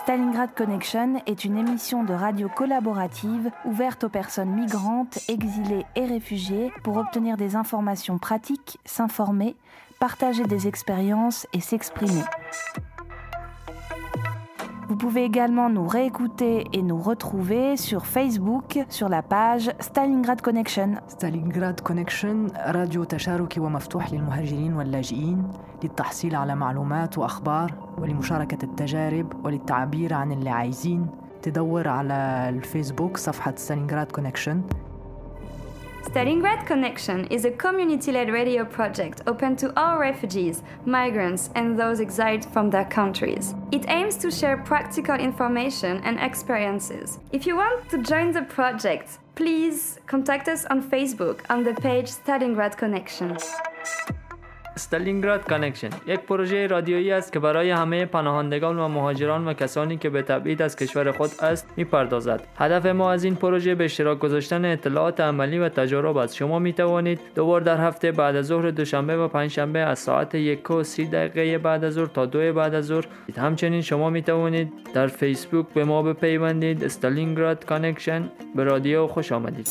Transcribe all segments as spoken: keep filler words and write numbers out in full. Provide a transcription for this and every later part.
Stalingrad Connection est une émission de radio collaborative ouverte aux personnes migrantes, exilées et réfugiées pour obtenir des informations pratiques, s'informer, partager des expériences et s'exprimer. Vous pouvez également nous réécouter et nous retrouver sur Facebook sur la page Stalingrad Connection. ستالينغراد كونكشن راديو تشاركي ومفتوح للمهاجرين واللاجئين للتحصيل على معلومات وأخبار ولمشاركة التجارب وللتعبير عن اللي عايزين. تدور على الفيسبوك صفحة ستالينغراد كونكشن. Stalingrad Connection is a community-led radio project open to all refugees, migrants, and those exiled from their countries. It aims to share practical information and experiences. If you want to join the project, please contact us on Facebook on the page Stalingrad Connection. استالینگراد کانکشن یک پروژه رادیویی است که برای همه پناهندگان و مهاجران و کسانی که به تبعید از کشور خود است می‌پردازد. هدف ما از این پروژه به اشتراک گذاشتن اطلاعات عملی و تجارب است. شما می توانید دو بار در هفته بعد از ظهر دوشنبه و پنجشنبه از ساعت یک و سی دقیقه بعد از ظهر تا دو بعد از ظهر. همچنین شما می توانید در فیسبوک به ما بپیوندید. استالینگراد کانکشن. به رادیو خوش آمدید.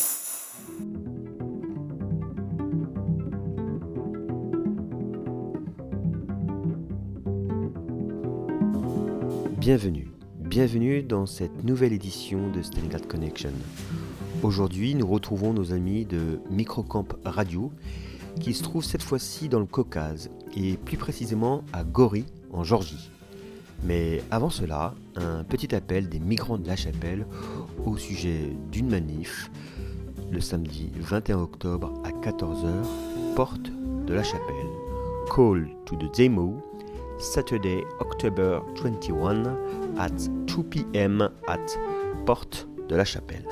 Bienvenue, bienvenue dans cette nouvelle édition de Stalingrad Connection. Aujourd'hui, nous retrouvons nos amis de Microcamp Radio qui se trouvent cette fois-ci dans le Caucase et plus précisément à Gori en Géorgie. Mais avant cela, un petit appel des migrants de La Chapelle au sujet d'une manif le samedi vingt et un octobre à quatorze heures, porte de La Chapelle. Call to the demo Saturday, October twenty-first at two p.m. at Porte de la Chapelle.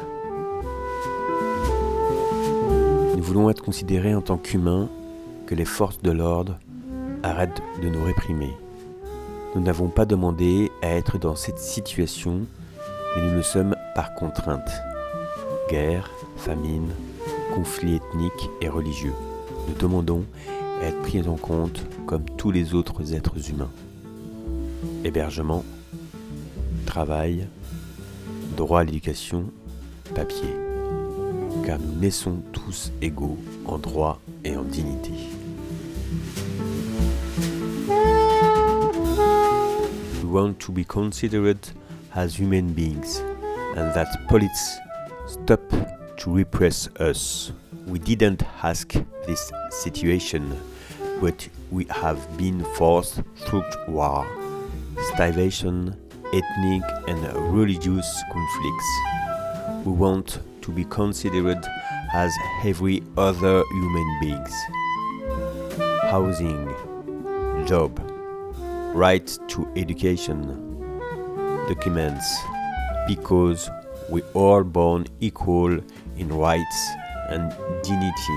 Nous voulons être considérés en tant qu'humains, que les forces de l'ordre arrêtent de nous réprimer. Nous n'avons pas demandé à être dans cette situation, mais nous le sommes par contrainte. Guerre, famine, conflits ethniques et religieux. Nous demandons à être pris en compte comme tous les autres êtres humains. Hébergement, travail, droit à l'éducation, papier. Car nous naissons tous égaux en droit et en dignité. We want to be considered as human beings and that police stop to repress us. We didn't ask this situation, but we have been forced through war, starvation, ethnic and religious conflicts. We want to be considered as every other human beings. Housing, job, right to education, documents, because we are born equal in rights and dignity.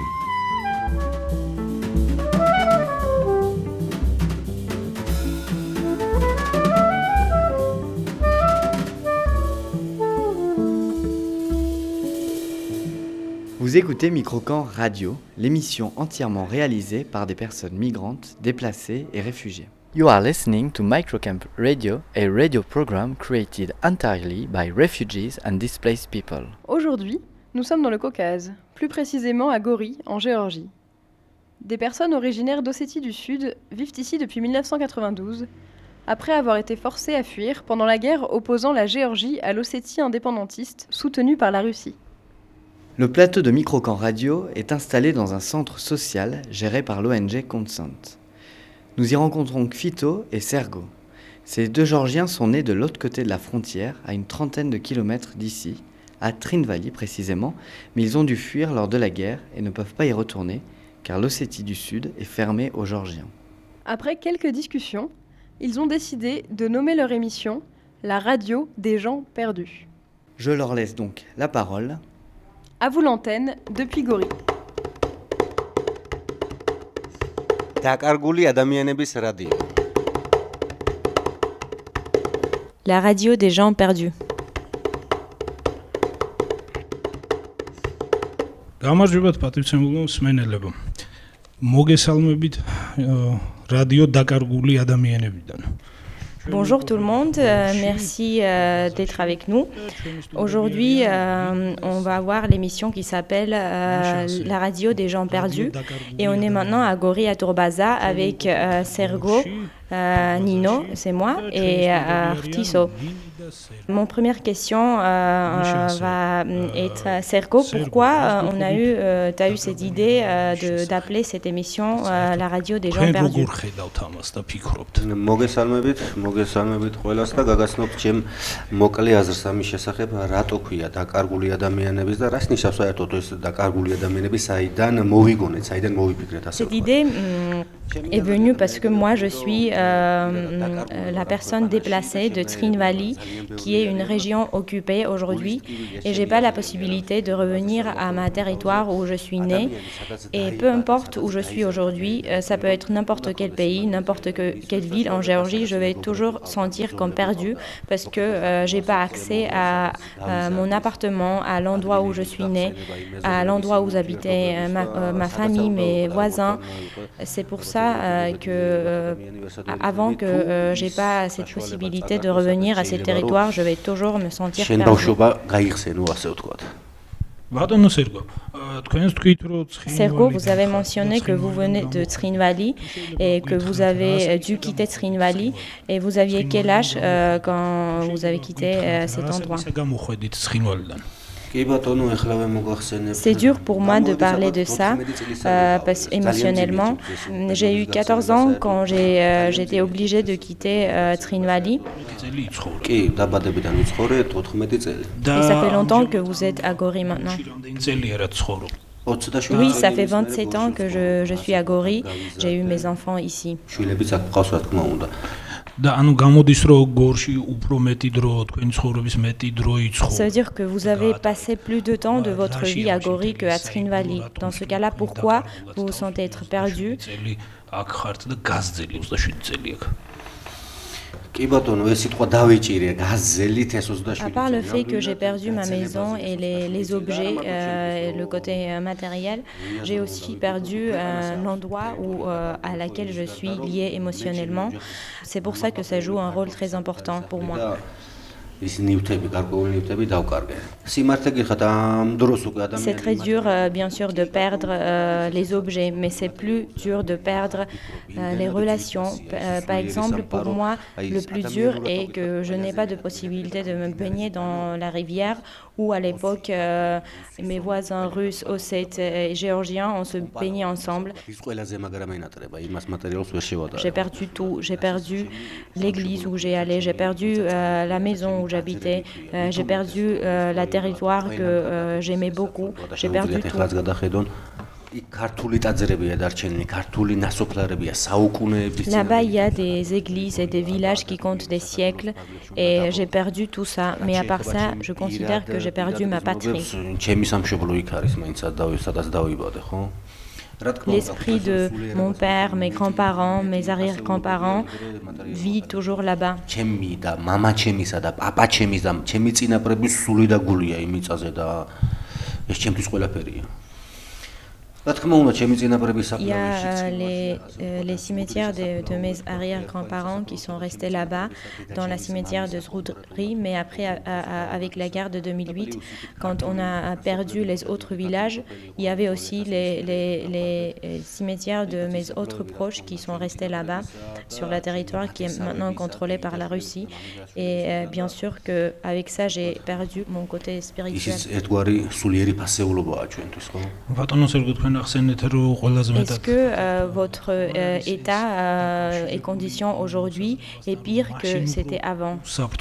Vous écoutez Microcamp Radio, l'émission entièrement réalisée par des personnes migrantes, déplacées et réfugiées. You are listening to Microcamp Radio, a radio program created entirely by refugees and displaced people. Aujourd'hui, nous sommes dans le Caucase, plus précisément à Gori, en Géorgie. Des personnes originaires d'Ossétie du Sud vivent ici depuis dix-neuf cent quatre-vingt-douze, après avoir été forcées à fuir pendant la guerre opposant la Géorgie à l'Ossétie indépendantiste, soutenue par la Russie. Le plateau de Microcamp Radio est installé dans un centre social géré par l'O N G Consent. Nous y rencontrons Kfito et Sergo. Ces deux Géorgiens sont nés de l'autre côté de la frontière, à une trentaine de kilomètres d'ici, à Trinvali précisément, mais ils ont dû fuir lors de la guerre et ne peuvent pas y retourner, car l'Ossétie du Sud est fermée aux Géorgiens. Après quelques discussions, ils ont décidé de nommer leur émission « La radio des gens perdus ». Je leur laisse donc la parole. À vous l'antenne, depuis Gori. La radio des gens perdus. გამარჯობათ პატრიცემულო მსმენელებო. მოგესალმებით რადიო დაკარგული ადამიანებიდან. Bonjour tout le monde, euh, merci euh, d'être avec nous. Aujourd'hui, euh, on va voir l'émission qui s'appelle euh, La radio des gens perdus. Et on est maintenant à Gori à Tourbaza avec euh, Sergo, euh, Nino, c'est moi, et euh, Artiso. Mon première question euh, va être Sergo, pourquoi euh, on a eu, euh, tu as eu cette idée euh, de, d'appeler cette émission euh, La radio des gens perdus? მოგესალმებით, მოგესალმებით ყველას და გაგაცნობთ ჩემ მოკლე აზრს ამის შესახებ, რატო ქვია დაკარგული ადამიანების და რას ნიშნავს საერთოდ ეს დაკარგული ადამიანები, საიდან მოვიგონეთ, საიდან მოვიფიქრეთ ასე. Cette idée mm, est venue parce que moi je suis euh, la personne déplacée de Trine Valley, qui est une région occupée aujourd'hui, et j'ai pas la possibilité de revenir à ma territoire où je suis née. Et peu importe où je suis aujourd'hui, ça peut être n'importe quel pays, n'importe que, quelle ville en Géorgie, je vais toujours sentir comme perdue parce que euh, j'ai pas accès à, à mon appartement, à l'endroit où je suis née, à l'endroit où habitait ma, euh, ma famille, mes voisins. C'est pour ça euh, que euh, avant que euh, j'ai pas cette possibilité de revenir à ce territoire, je vais toujours me sentir perdue. Sergo, vous avez mentionné que vous venez de Trine Valley et que vous avez dû quitter Trine Valley, et vous aviez quel âge euh, quand vous avez quitté euh, cet endroit? C'est dur pour moi de parler de ça, euh, parce émotionnellement. J'ai eu quatorze ans quand j'ai, euh, j'étais obligée de quitter euh, Trine Valley. Et ça fait longtemps que vous êtes à Gori maintenant. Oui, ça fait vingt-sept ans que je, je suis à Gori. J'ai eu mes enfants ici. Ça veut dire que vous avez passé plus de temps de votre vie à Gori qu'à Trine Valley. Dans ce cas-là, pourquoi vous vous sentez être perdu? À part le fait que j'ai perdu ma maison et les, les objets, euh, le côté euh, matériel, j'ai aussi perdu euh, l'endroit où, euh, à laquelle je suis liée émotionnellement. C'est pour ça que ça joue un rôle très important pour moi. C'est très dur, euh, bien sûr, de perdre euh, les objets, mais c'est plus dur de perdre euh, les relations. Euh, par exemple, pour moi, le plus dur est que je n'ai pas de possibilité de me baigner dans la rivière, où à l'époque, euh, mes voisins russes, ossètes et géorgiens, on se baignait ensemble. J'ai perdu tout. J'ai perdu l'église où j'ai allé, j'ai perdu euh, la maison où j'habitais, euh, j'ai perdu euh, la territoire que euh, j'aimais beaucoup, j'ai perdu tout. Là-bas, il y a des églises et des villages qui comptent des siècles, et j'ai perdu tout ça. Mais à part ça, je considère que j'ai perdu ma patrie. L'esprit de mon père, mes grands-parents, mes arrière-grands-parents vit toujours là-bas. Il y a euh, les, euh, les cimetières de, de mes arrière-grands-parents qui sont restés là-bas, dans la cimetière de Zroudri, mais après, à, à, avec la guerre de deux mille huit, quand on a perdu les autres villages, il y avait aussi les, les, les cimetières de mes autres proches qui sont restés là-bas, sur le territoire qui est maintenant contrôlé par la Russie. Et euh, bien sûr qu'avec ça, j'ai perdu mon côté spirituel. Est-ce que euh, votre euh, état euh, et condition aujourd'hui est pire que c'était avant?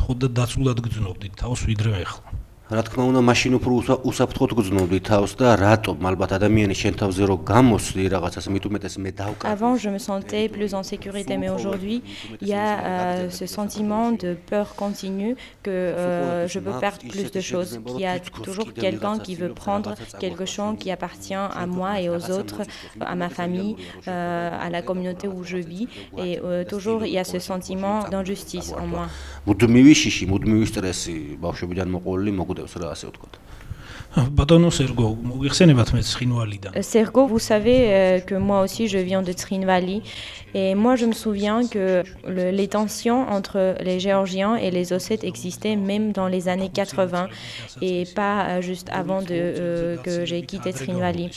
რა თქმა უნდა, მაშინ უფრო უსაფრთხოდ გრძნობდი თავს და რატომ? ალბათ ადამიანი შენ თავზე რო გამოსვლი რაღაცას, მით უმეტეს მე დავკარგე. Avant, je me sentais plus en sécurité, mais aujourd'hui, il y a euh, ce sentiment de peur continue que euh, je peux perdre plus de choses, qu'il y a toujours quelqu'un qui veut prendre quelque chose qui appartient à moi et aux autres, à ma famille, euh, à la communauté où je vis, et euh, toujours il y a ce sentiment d'injustice en moi. მუდმივი შიში, მუდმივი სტრესი, ბავშვებიდან მოყოლილი მოგ Sergo, vous savez euh, que moi aussi je viens de Trinvali et moi je me souviens que le, les tensions entre les Géorgiens et les Ossètes existaient même dans les années quatre-vingts et pas euh, juste avant de, euh, que j'ai quitté Trinvali.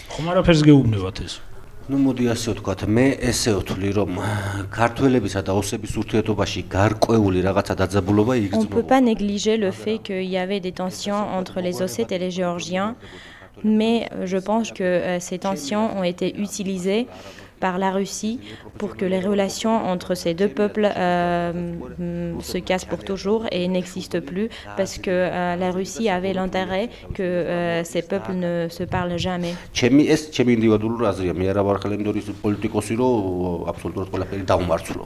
Ну მოდი ასე ვთქვათ, მე ესე ვთვლი, რომ ქართველებისა და ოსების ურთიერთობაში გარკვეული რაღაცა დაძაბულობა იგრძნობა. On ne peut pas négliger le fait qu'il y avait des tensions entre les Ossètes et les Géorgiens, mais je pense que euh, ces tensions ont été utilisées par la Russie pour que les relations entre ces deux peuples euh, se cassent pour toujours et n'existent plus parce que euh, la Russie avait l'intérêt que euh, ces peuples ne se parlent jamais. ჩემი ეს ჩემი ინდივიდუალური აზრია, მე არა ვარ ხელმძღვანელის პოლიტიკოსი, რომ აბსოლუტურად ყველაფერი დავმარცხლო.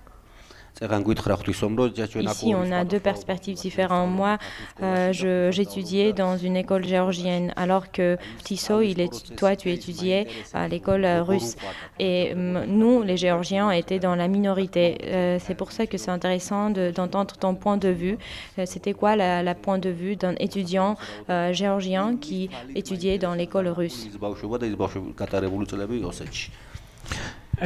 Ici, on a deux perspectives différentes. Moi, euh, je, j'étudiais dans une école géorgienne, alors que Tiso, il est, toi, tu étudiais à l'école russe. Et euh, nous, les Géorgiens, étaient dans la minorité. Euh, c'est pour ça que c'est intéressant de, d'entendre ton point de vue. Euh, c'était quoi la, la point de vue d'un étudiant euh, géorgien qui étudiait dans l'école russe? Par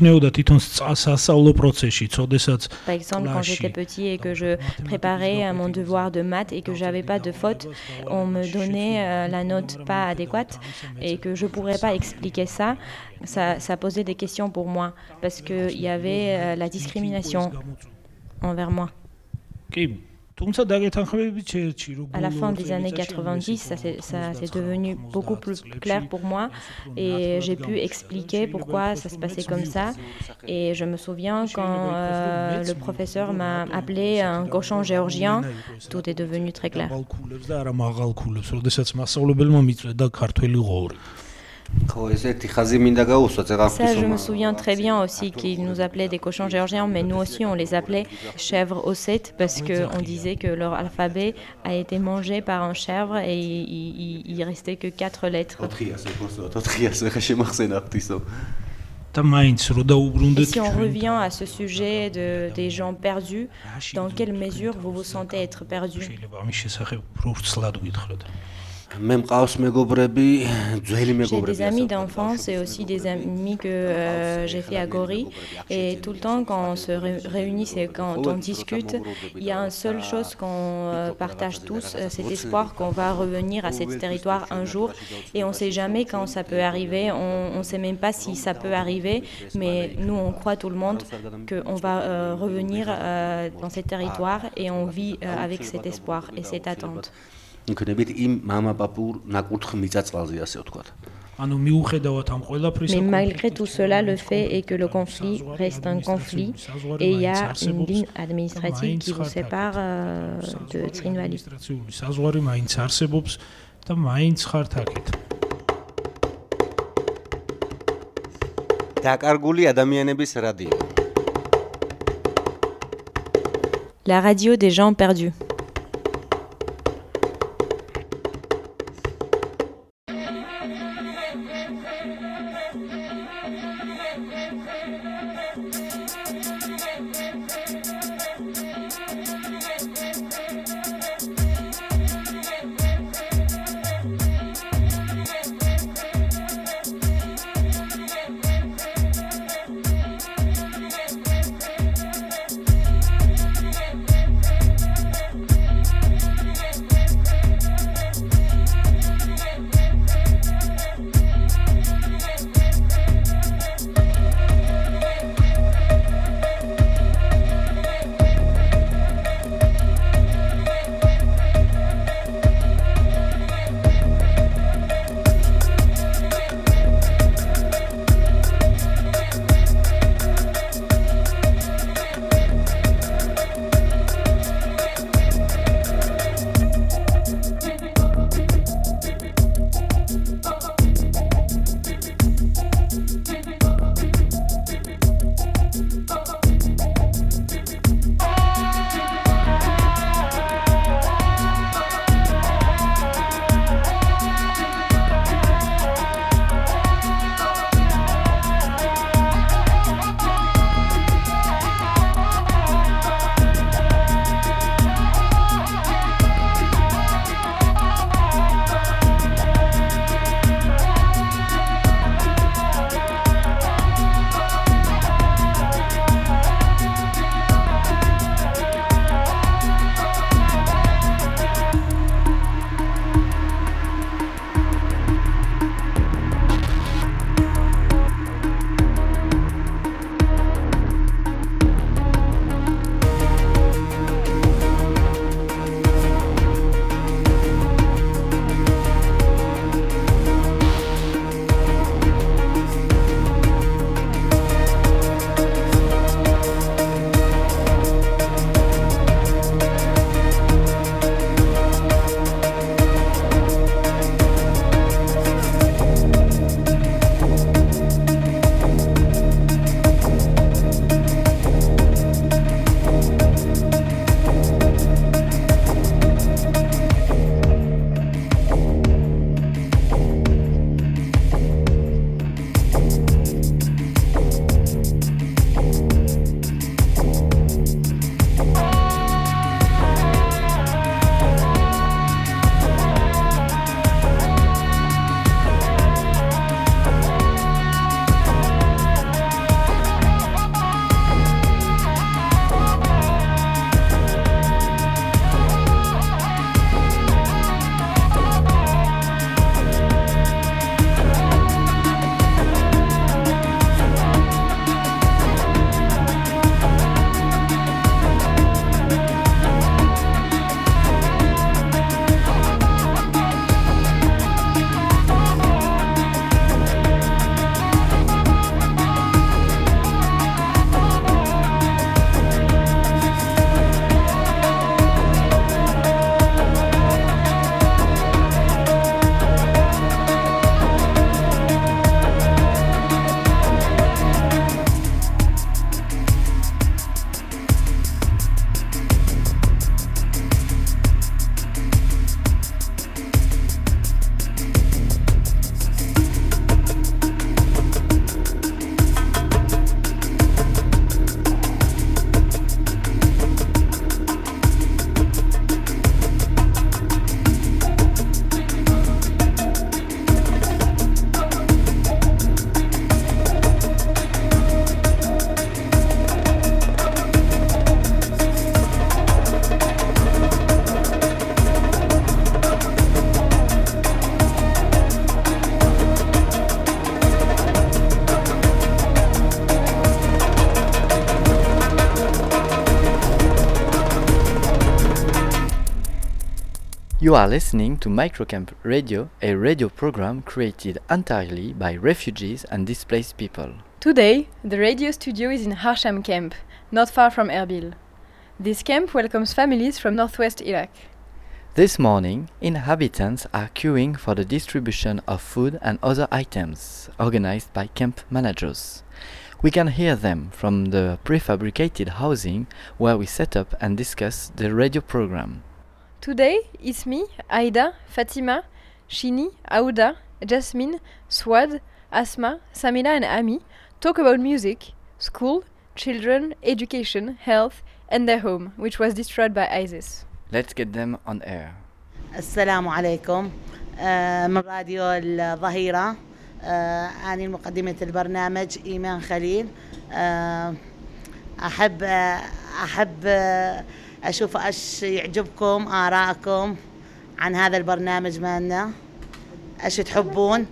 exemple, quand j'étais petit et que je préparais mon devoir de maths et que j'avais pas de faute, on me donnait euh, la note pas adéquate et que je pourrais pas expliquer ça, ça, ça posait des questions pour moi parce qu'il y avait euh, la discrimination envers moi. À la fin des années quatre-vingt-dix, ça s'est, ça s'est devenu beaucoup plus clair pour moi et j'ai pu expliquer pourquoi ça se passait comme ça. Et je me souviens quand euh, le professeur m'a appelé un cochon géorgien, tout est devenu très clair. Ça, je me souviens très bien aussi qu'ils nous appelaient des cochons géorgiens, mais nous aussi on les appelait chèvres ossètes parce qu'on disait que leur alphabet a été mangé par un chèvre et il, il, il restait que quatre lettres. Et si on revient à ce sujet de, des gens perdus, dans quelle mesure vous vous sentez être perdu? J'ai des amis d'enfance et aussi des amis que euh, j'ai fait à Gori et tout le temps quand on se réunit et quand on discute, il y a une seule chose qu'on euh, partage tous, euh, cet espoir qu'on va revenir à ce territoire un jour et on ne sait jamais quand ça peut arriver, on ne sait même pas si ça peut arriver, mais nous on croit tout le monde qu'on va euh, revenir euh, dans ce territoire et on vit euh, avec cet espoir et cette attente. Mais malgré tout cela, le fait est que le conflit reste un conflit et il y a une ligne administrative qui vous sépare euh, de Trinvali. La radio des gens perdus. You are listening to Microcamp Radio, a radio program created entirely by refugees and displaced people. Today, the radio studio is in Harsham camp, not far from Erbil. This camp welcomes families from northwest Iraq. This morning, inhabitants are queuing for the distribution of food and other items, organized by camp managers. We can hear them from the prefabricated housing where we set up and discuss the radio program. Today, Ismi, Aida, Fatima, Shini, Aouda, Jasmine, Swad, Asma, Samila and Ami talk about music, school, children, education, health and their home, which was destroyed by ISIS. Let's get them on air. السلام عليكم من راديو الظهيرة. أنا مقدمة البرنامج إيمان خليل. أحب أحب أشوف إيش يعجبكم آراءكم عن هذا البرنامج مالنا. إيش تحبون؟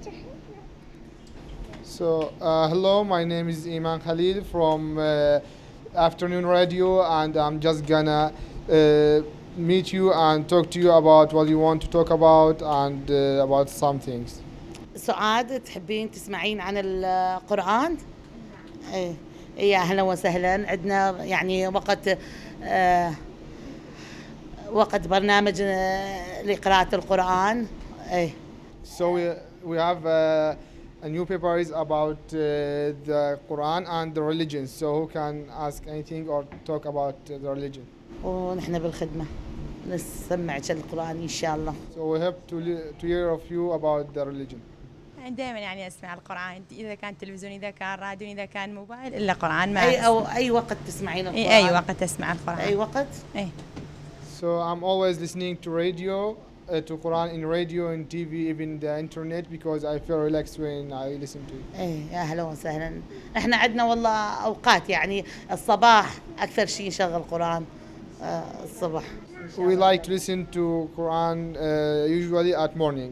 So uh, hello, my name is Iman Khalil from uh, Afternoon Radio, and I'm just gonna uh, meet you and talk to you about what you want to talk about and uh, about some things. سعاد تحبين تسمعين عن القرآن؟ إيه يا أهلا وسهلا. عندنا يعني وقت آه وقت برنامج لقراءة القرآن. إيه. So we, we have uh, a new paper is about uh, the Quran and the religion. So who can ask anything or talk about uh, the religion? ونحن بالخدمة نسمعك القرآن إن شاء الله. So we hope to li- to hear of you about the religion. دائما يعني اسمع القرآن، إذا كان تلفزيون إذا كان راديو إذا كان موبايل إلا قرآن. ما أي أو أي وقت تسمعين القرآن؟ أي وقت أسمع القرآن. أي وقت؟ أي. So I'm always listening to radio, uh, to Quran in radio and T V, even the internet, because I feel relaxed when I listen to it. إيه يا أهلا وسهلا. إحنا عندنا والله أوقات يعني الصباح أكثر شيء نشغل قرآن آه الصبح. We like to listen to Quran uh, usually at morning.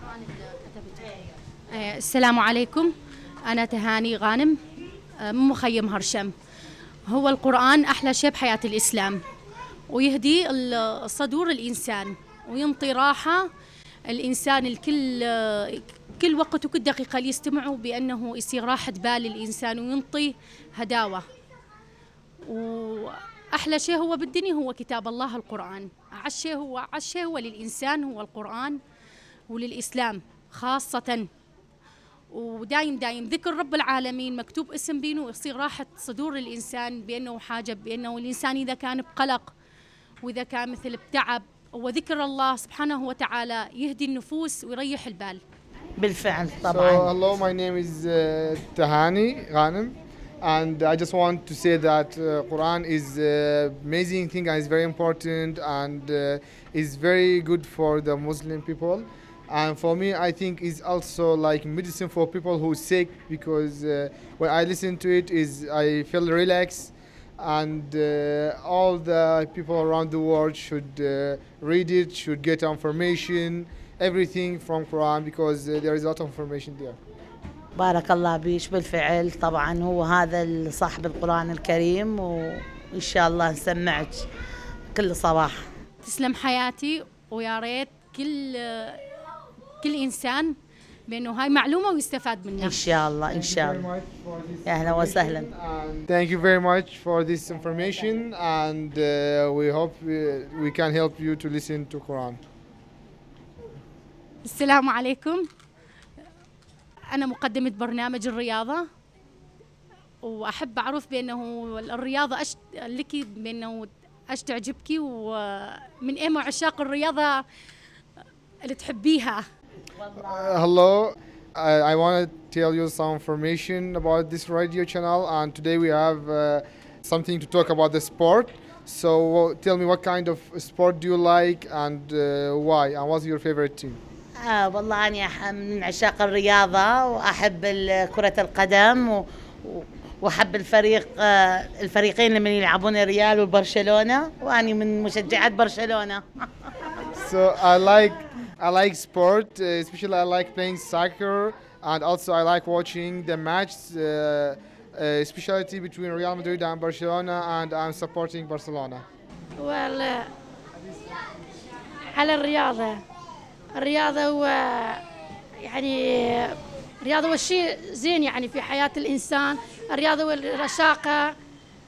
السلام عليكم. أنا تهاني غانم من مخيم هرشم. هو القرآن أحلى شيء بحياة الإسلام، ويهدي صدور الإنسان وينطي راحة الإنسان الكل كل وقت وكل دقيقة يستمعوا بأنه يصير راحة بال الإنسان وينطي هداوة. وأحلى شيء هو بالدنيا هو كتاب الله القرآن. أعز شيء هو أعز شيء هو للإنسان هو القرآن وللإسلام خاصة. ودايم دايم ذكر رب العالمين مكتوب اسم بينه يصير راحة صدور الإنسان بأنه حاجة بأنه الإنسان إذا كان بقلق وإذا كان مثل بتعب وذكر الله سبحانه وتعالى يهدي النفوس ويريح البال. بالفعل طبعا. So hello, my name is uh, Tahani Ghanem, and I just want to say that uh, Quran is an amazing thing and is very important and uh, is very good for the Muslim people. And for me, I think is also like medicine for people who are sick, because uh, when I listen to it, is I feel relaxed, and uh, all the people around the world should uh, read it, should get information, everything from Quran, because uh, there is a lot of information there. بارك الله بيش. بالفعل طبعا هو هذا صاحب القرآن الكريم، وإن شاء الله نسمعك كل صباح. تسلم حياتي، ويا ريت كل كل إنسان بأنه هاي معلومة ويستفاد منها. إن شاء الله إن شاء الله. يا أهلا وسهلا. Thank you very much for this information, and uh, we hope we, we can help you to listen to Quran. السلام عليكم. أنا مقدمة برنامج الرياضة، وأحب أعرف بأنه الرياضة أش لك بأنه أش تعجبك، ومن أهم عشاق الرياضة اللي تحبيها. Uh, hello, I, I want to tell you some information about this radio channel, and today we have uh, something to talk about the sport. So uh, tell me, what kind of sport do you like, and uh, why, and what's your favorite team? آه والله أنا من عشاق الرياضة، وأحب كرة القدم، و وأحب الفريق آه الفريقين اللي يلعبون الريال وبرشلونة، وأنا من مشجعات برشلونة. So I like I like sport, uh, especially I like playing soccer, and also I like watching the match, uh, uh, especially between Real Madrid and Barcelona, and I'm supporting Barcelona. Well, uh, على الرياضة. الرياضة هو يعني الرياضة هو شيء زين يعني في حياة الإنسان. الرياضة والرشاقة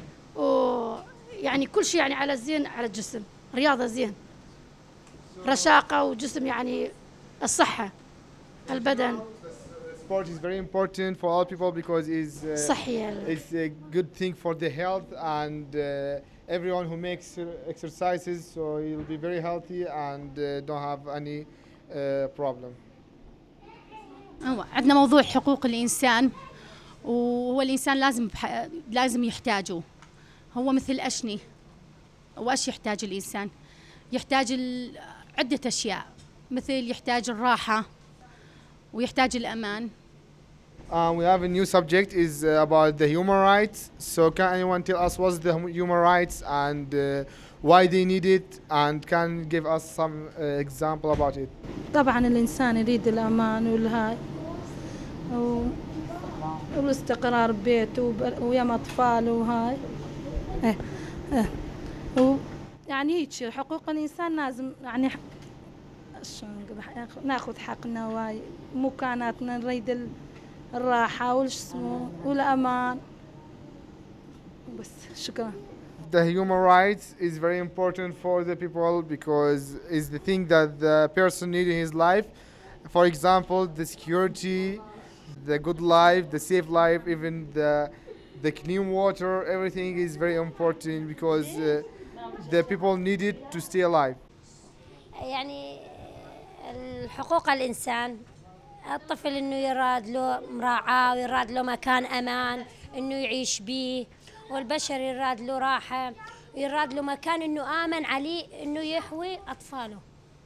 ويعني كل شيء يعني على الزين على الجسم. رياضة زين، رشاقة وجسم يعني الصحة البدن. Sport is very important for all people because it's uh, صحية. it's a good thing for the health and uh, everyone who makes exercises, so you'll be very healthy and uh, don't have any uh, problem. هو عندنا موضوع حقوق الإنسان، وهو الإنسان لازم بح... لازم يحتاجه. هو مثل أشني، وأش يحتاج الإنسان؟ يحتاج ال... عدة أشياء، مثل يحتاج الراحة ويحتاج الأمان. Um, we have a new subject is uh, about the human rights. So can anyone tell us what's the human rights and uh, why they need it, and can give us some uh, example about it? طبعا الإنسان يريد الأمان والهاي والاستقرار ببيته ويا أطفاله وهاي. إيه إيه يعني هيك حقوق الإنسان لازم يعني ناخذ حقنا واي مكاناتنا، نريد الراحة والجسم والأمان بس. شكرا. The human rights is very important for the people because it's the thing that the person needs in his life. For example, the security, the good life, the safe life, even the the clean water, everything is very important because uh, the people need it to stay alive. يعني الحقوق الإنسان، الطفل إنه يراد له مراعاة ويراد له مكان أمان إنه يعيش به، والبشر يراد له راحة ويراد له مكان إنه آمن عليه إنه يحوي أطفاله،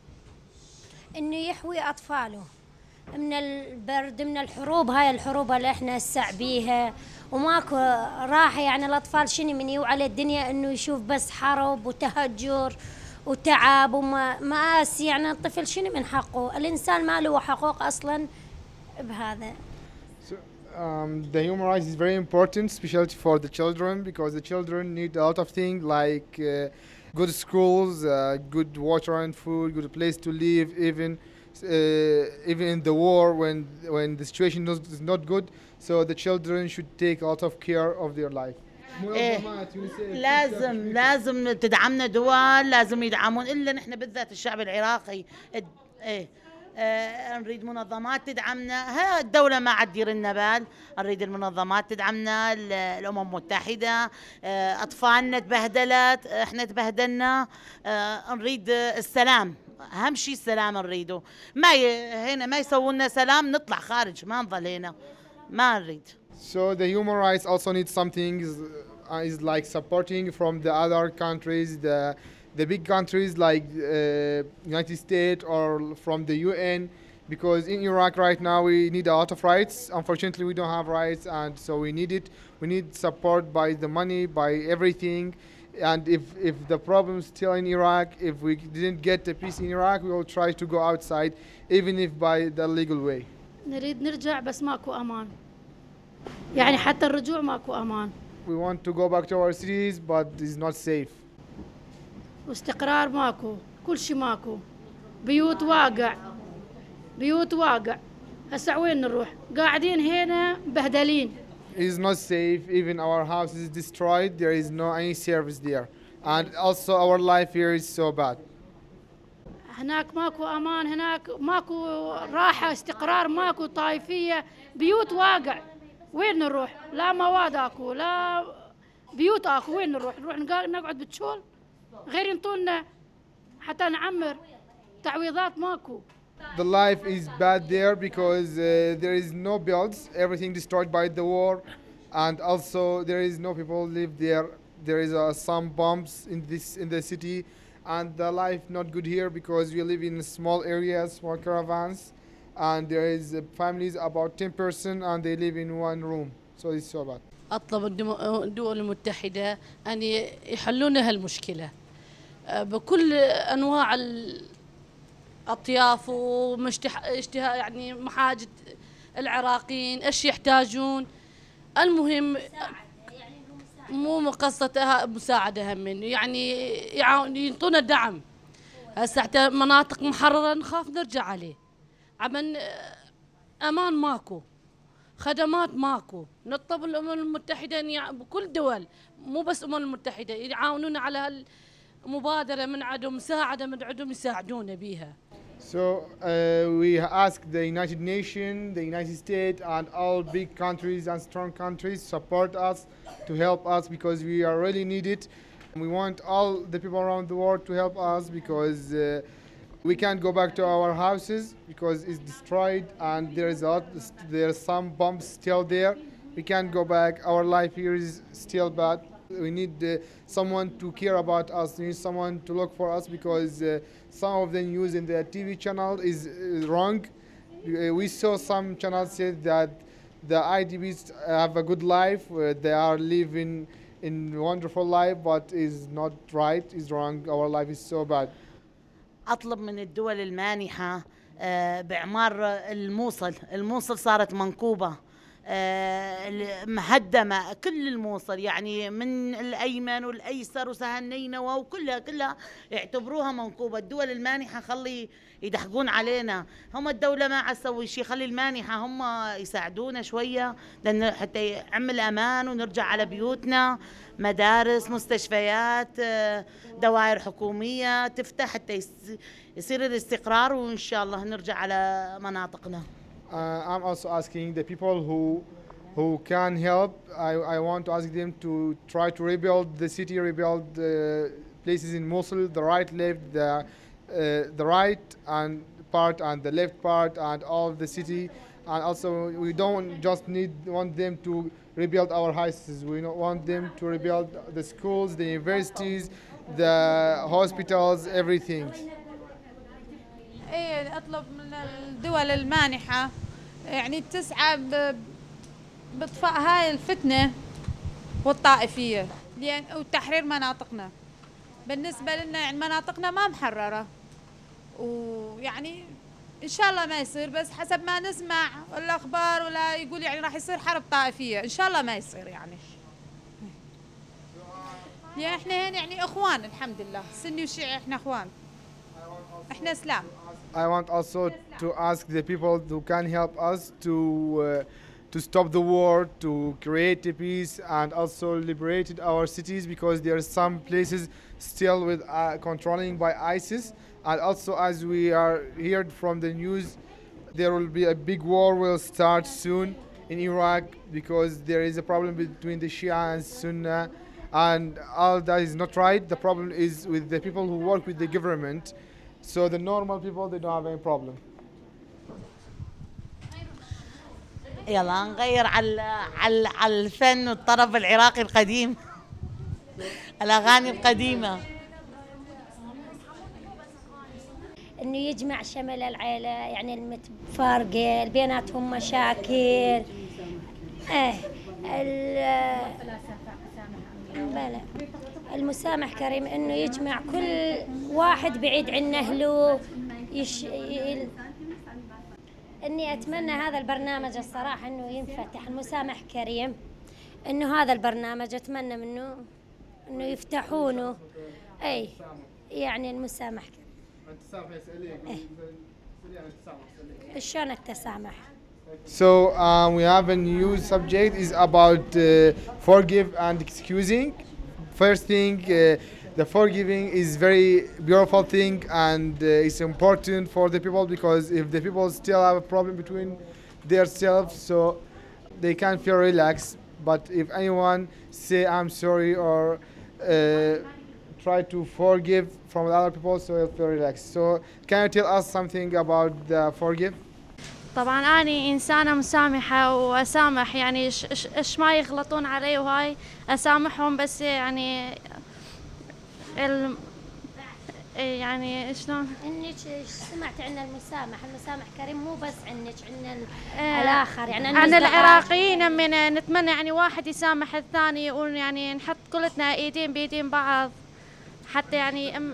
إنه يحوي أطفاله من البرد، من الحروب. هاي الحروب اللي إحنا هسع بيها وماكو راحة. يعني الأطفال شنو من يوعى الدنيا إنه يشوف بس حرب وتهجر وتعب ومآسي. يعني الطفل شنو من حقه؟ الإنسان ما له حقوق أصلاً بهذا. So, um, the human rights is very important, especially for the children, because the children need a lot of things like uh, good schools, uh, good water and food, good place to live. Even uh, even in the war, when when the situation is not good, so the children should take a lot of care of their life. إيه لازم لازم تدعمنا دول، لازم يدعمون إلا نحن بالذات الشعب العراقي. إيه آه نريد منظمات تدعمنا. ها الدولة ما عاد دير لنا بال، نريد المنظمات تدعمنا، الأمم المتحدة. آه أطفالنا تبهدلت، إحنا تبهدلنا. آه نريد السلام، أهم شيء السلام نريده. ما ي... هنا ما يسوون سلام نطلع خارج، ما نظل هنا، ما نريد. So the human rights also need something is, uh, is like supporting from the other countries, the the big countries like uh, United States or from the U N, because in Iraq right now we need a lot of rights. Unfortunately, we don't have rights, and so we need it. We need support by the money, by everything. And if if the problem is still in Iraq, if we didn't get the peace in Iraq, we will try to go outside, even if by the legal way. نريد نرجع بس ماكو أمان. يعني حتى الرجوع ماكو أمان. We want to go back to our cities, but it's not safe. واستقرار ماكو، كل شيء ماكو. بيوت واقع، بيوت واقع. هسا وين نروح؟ قاعدين هنا بهدلين. It's not safe. Even our house is destroyed. There is no any service there, and also our life here is so bad. هناك ماكو أمان، هناك ماكو راحة، استقرار ماكو، طائفية، بيوت واقع. وين نروح؟ لا مواد اكو، لا بيوت اكو. وين نروح؟ نروح نقعد بالشول؟ غير ينطونا حتى نعمر. تعويضات ماكو. The life is bad there because uh, there is no builds. Everything destroyed by the war, and also there is no people live there. There is uh, some bombs in this in the city, and the life not good here because we live in small areas, small caravans. And there is uh, families about ten person and they live in one room, so it's so bad. أطلب الدول المتحدة أن يحلون هالمشكلة بكل أنواع الأطياف واشتهاء يعني محاجة العراقيين إيش يحتاجون. المهم مو مقصة مساعدة هم يعني يعطونا دعم هسه حتى مناطق محررة نخاف نرجع عليه. عمن أمان ماكو، خدمات ماكو. نطلب الأمم المتحدة يعني بكل دول، مو بس الأمم المتحدة، يعاونونا على هالمبادرة من عندهم، مساعدة من عندهم يساعدونا بيها. So uh, we ask the United Nations, the United States, and all big countries and strong countries support us to help us because we are really needed. We want all the people around the world to help us because uh, we can't go back to our houses because it's destroyed and there is a lot, there's some bombs still there. We can't go back. Our life here is still bad. We need uh, someone to care about us. We need someone to look for us because uh, some of the news in the T V channel is uh, wrong. Uh, we saw some channels say that the I D Bs have a good life. Uh, they are living in wonderful life, but is not right. Is wrong. Our life is so bad. أطلب من الدول المانحة بإعمار الموصل. الموصل صارت منكوبة مهدمة، كل الموصل يعني من الأيمن والأيسر وسهل نينوى وكلها كلها يعتبروها منكوبة. الدول المانحة خلي يدحقون علينا، هم الدولة ما عسوي شيء، خلي المانحة هم يساعدونا شوية لأن حتى يعمل أمان ونرجع على بيوتنا. مدارس، مستشفيات، دوائر حكومية تفتح حتى يصير الاستقرار وإن شاء الله نرجع على مناطقنا. Uh, I'm also asking the people who who can help. I, I want to ask them to try to rebuild the city, rebuild the places in Mosul, the right, left, the uh, the right and part and the left part and all of the city. And also, we don't just need want them to rebuild our houses. We want them to rebuild the schools, the universities, the hospitals, everything. ايه اطلب من الدول المانحة يعني تسعى باطفاء هاي الفتنة والطائفية لأن وتحرير مناطقنا. بالنسبة لنا يعني مناطقنا ما محررة ويعني إن شاء الله ما يصير، بس حسب ما نسمع الأخبار ولا يقول يعني راح يصير حرب طائفية. إن شاء الله ما يصير يعني. يعني إحنا هنا يعني إخوان الحمد لله، سني وشيعي إحنا إخوان. إحنا إسلام. I want also to ask the people who can help us to uh, to stop the war, to create a peace, and also liberate our cities because there are some places still with uh, controlling by ISIS. And also, as we are heard from the news, there will be a big war will start soon in Iraq because there is a problem between the Shia and Sunni, and all that is not right. The problem is with the people who work with the government. So the normal people, they don't have any problem. يلا نغير على على على الفن والطرب العراقي القديم، الأغاني القديمة. إنه يجمع شمل العيلة، يعني المتفارقة بيناتهم مشاكل. إيه بلى المسامح كريم، إنه يجمع كل واحد بعيد عن أهله. يش... ي... إني أتمنى هذا البرنامج الصراحة إنه ينفتح. المسامح كريم إنه هذا البرنامج أتمنى منه إنه يفتحونه. أي يعني المسامح كريم. إيه. شلون التسامح؟ So um, we have a new subject is about uh, forgive and excusing. First thing, uh, the forgiving is very beautiful thing and uh, it's important for the people because if the people still have a problem between themselves, so they can feel relaxed. But if anyone say I'm sorry or uh, try to forgive from the other people, so they'll feel relaxed. So can you tell us something about the forgive? طبعا أنا إنسانة مسامحة وأسامح، يعني إيش إيش ما يغلطون علي وهاي أسامحهم، بس يعني ال يعني شلون؟ إنك سمعت عن المسامح، المسامح كريم مو بس عنك، عن الآخر يعني عن العراقيين من نتمنى يعني واحد يسامح الثاني ويعني نحط كلتنا إيدين بإيدين بعض حتى يعني أم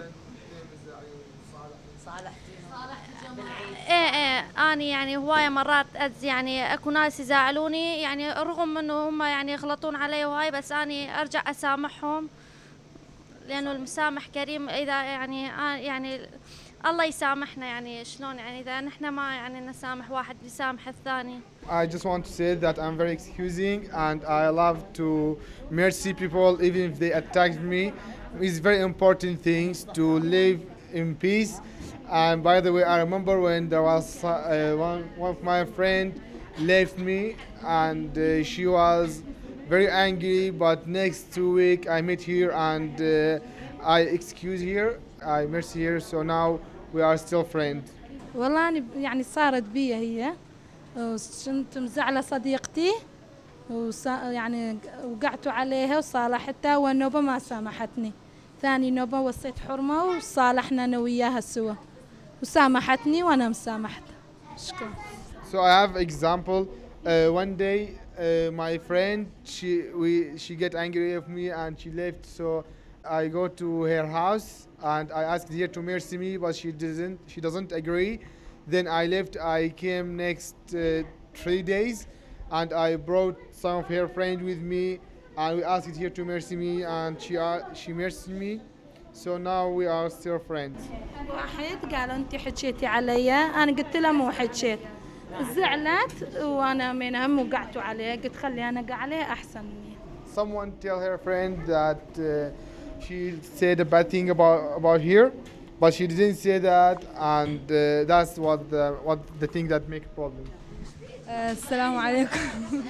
ايه ايه انا يعني هوايه مرات أز يعني اكو ناس يزعلوني يعني رغم انه هم يعني يغلطون علي وهاي، بس اني ارجع اسامحهم لأنه المسامح كريم. إذا يعني يعني الله يسامحنا، يعني شلون يعني إذا نحن ما يعني نسامح واحد يسامح الثاني. I just want to say that I'm very excusing and I love to mercy people even if they attacked me. It's very important things to live in peace. And by the way, I remember when there was uh, one, one of my friend left me and uh, she was very angry, but next two week I met her and uh, I excuse her, I mercy her, so now we are still friends. والله أنا يعني صارت بي هي وكنت مزعلة صديقتي ويعني وقعت عليها وصالحتها، والنوبة ما سامحتني. ثاني نوبة وصيت حرمة وصالحنا أنا وياها سوا وسامحتني وأنا مسامحتها. شكرا. So I have example. Uh, one day uh, my friend she we she get angry with me and she left. So I go to her house and I asked her to mercy me, but she doesn't. She doesn't agree. Then I left. I came next uh, three days, and I brought some of her friends with me, and we asked her to mercy me, and she uh, she mercy me. So now we are still friends. واحد قال أنت حكيتي عليا، أنا قلت له مو حكيت. زعلت وأنا منهم وقعت عليها، قلت خلي أنا قع عليها أحسن مني. Someone tell her friend that uh, she said a bad thing about about her, but she didn't say that, and uh, that's what the what the thing that make problem. السلام عليكم.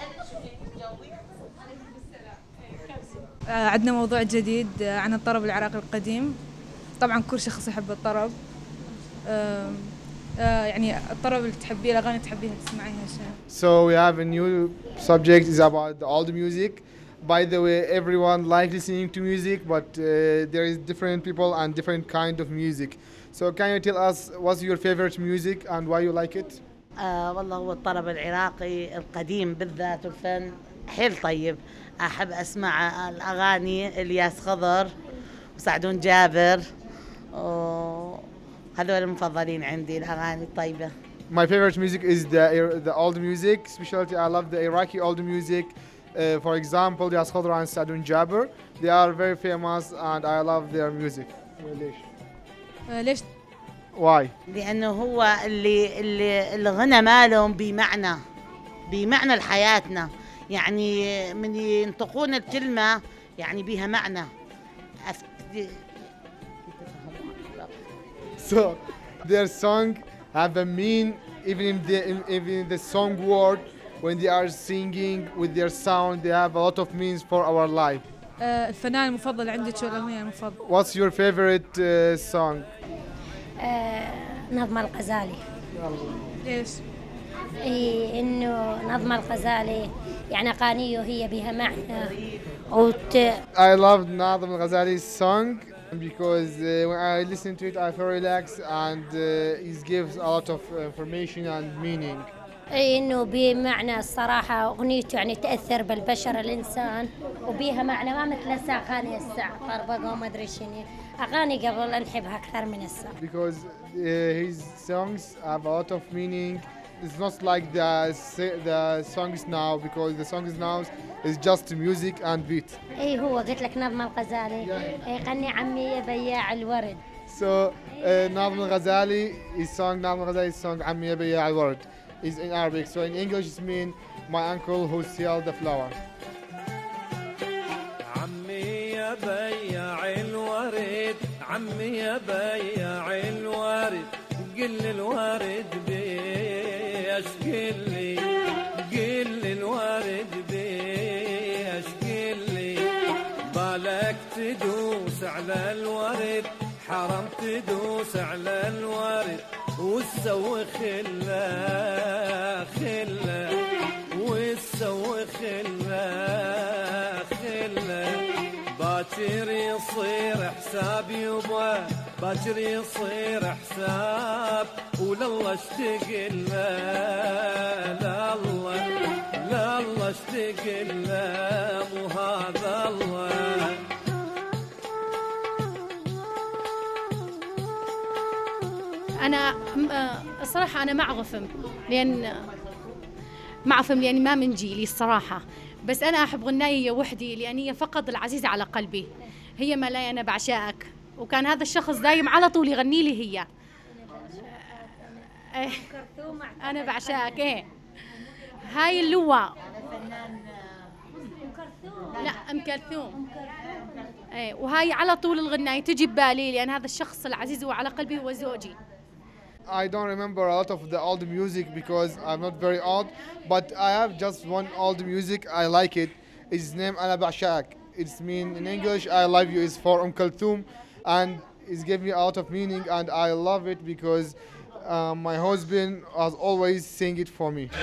عندنا موضوع جديد عن الطرب العراقي القديم. طبعا كل شخص يحب الطرب. يعني الطرب اللي تحبيه، الأغاني اللي تحبيها تسمعيها شيء. So we have a new subject is about the old music. By the way, everyone like listening to music, but uh, there is different people and different kind of music. So can you tell us what's your favorite music and why you like it? آه والله هو الطرب العراقي القديم بالذات والفن حيل طيب. أحب أسمع الأغاني الياس خضر وسعدون جابر، هذول المفضلين عندي الأغاني الطيبة. My favorite music is the the old music, especially I love the Iraqi old music. Uh, for example, Yas Khadra and Sadun Jabir, they are very famous and I love their music. ليش؟ ليش؟ Why? لأنه هو اللي اللي الغنى مالهم بمعنى بمعنى لحياتنا، يعني من ينطقون الكلمة يعني بها معنى. So their song have a mean even in the even in the song word. When they are singing with their sound, they have a lot of means for our life. الفنان المفضل عندك والأغنية المفضلة؟ What's your favorite uh, song? نظم الغزالي. ليش؟ إيه إنه نظم الغزالي يعني أغانيه هي بها معنى. وت... I love Nazm al-Ghazali's song because uh, when I listen to it I feel relaxed and uh, it gives a lot of information and meaning. اي انه بمعنى الصراحه اغنيته يعني تاثر بالبشر الانسان وبيها معنى ما مثل اغاني الساعه طربقه وما ادري شنو اغاني قبل نحبها اكثر من الساعه. Because uh, his songs have a lot of meaning. It's not like the the songs now because the songs now is just music and beat. اي هو قلت لك نظم الغزالي يغني عمي يا بياع الورد. So uh, Nazm al-Ghazali his song Nazm al-Ghazali's song عمي يا بياع الورد is in Arabic. So in English it means my uncle who sells the flower. عمي يا بياع الورد عمي يا بياع الورد قل الورد بيش قلي قل الورد بيش قلي بالك تدوس على الورد حرام تدوس على الورد وتسوي خلا خلا وتسوي خلا خلا باكر يصير حساب يبا باكر يصير حساب ولله اشتقل لا الله لا الله اشتقل مو هذا الله. أنا الصراحة أنا مع غفم لأن مع غفم لأن ما من جيلي الصراحة، بس أنا أحب غناية وحدي لأن هي فقط العزيزة على قلبي. هي ملاي أنا بعشقك، وكان هذا الشخص دايم على طول يغني لي هي أنا بعشقك. إيه هاي اللواء لا أم كلثوم. إيه وهاي على طول الغناية تجي ببالي لأن هذا الشخص العزيز وعلى قلبي هو زوجي. I don't remember a lot of the old music because I'm not very old, but I have just one old music. I like it. It's named أنا بعشقك. It's mean in English I love you is for Umm Kulthum, and it gave me a lot of meaning, and I love it because uh, my husband has always sing it for me.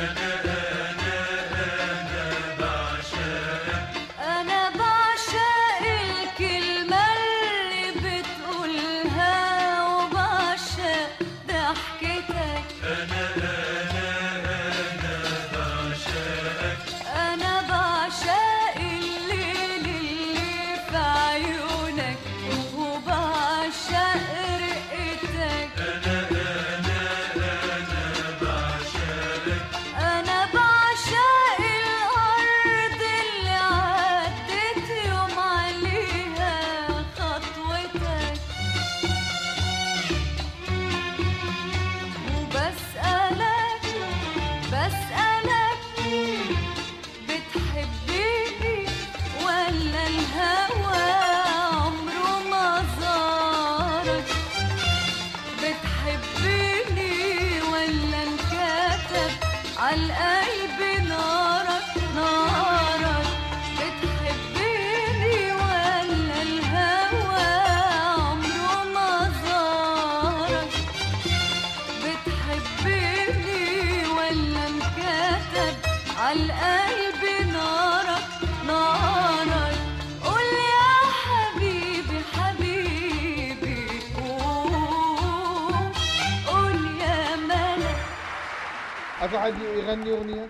أفا حد يغني أغنية؟